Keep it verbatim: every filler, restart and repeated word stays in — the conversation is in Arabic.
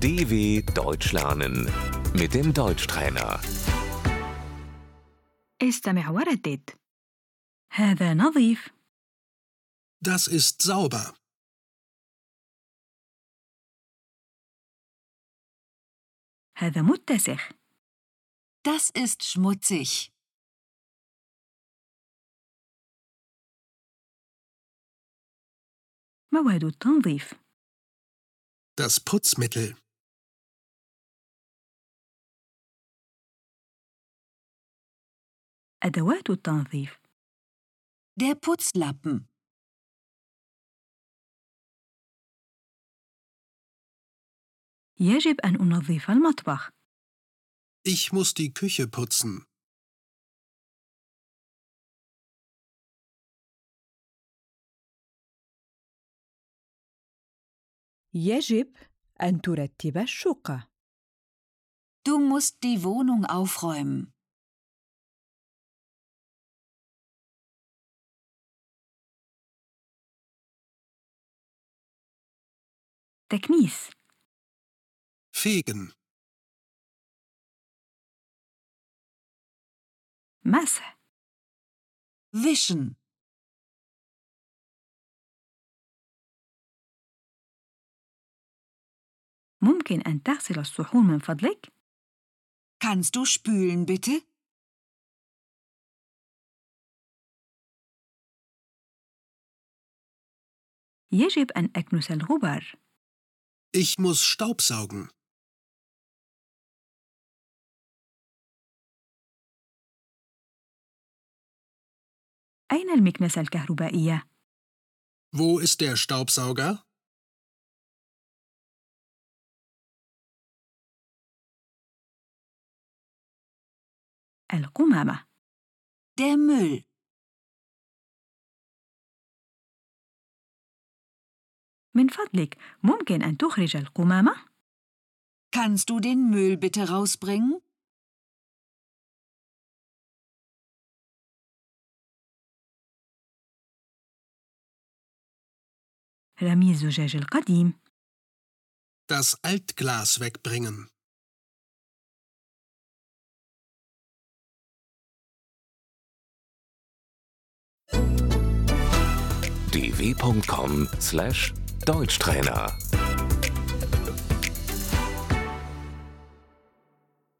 D W Deutsch lernen mit dem Deutschtrainer. استمع وردد. هذا نظيف. Das ist sauber. هذا متسخ. Das ist schmutzig. مواد التنظيف. Das Putzmittel. أدوات التنظيف. Der Putzlappen. يجب أن أنظف المطبخ. Ich muss die Küche putzen. يجب أن ترتب الشقة. Du musst die Wohnung aufräumen. تكنيس. Fegen. مسح. Wischen. ممكن أن تغسل الصحون من فضلك؟ Kannst du spülen, bitte? يجب أن أكنس الغبار. Ich muss Staubsaugen. أين المكنسة الكهربائية؟ Wo ist der Staubsauger? القمامة. Der Müll. من فضلك ممكن أن تخرج القمامة؟ Kannst du den Müll bitte rausbringen? رمي الزجاج القديم. Das Altglas wegbringen. d w punkt com slash Deutschtrainer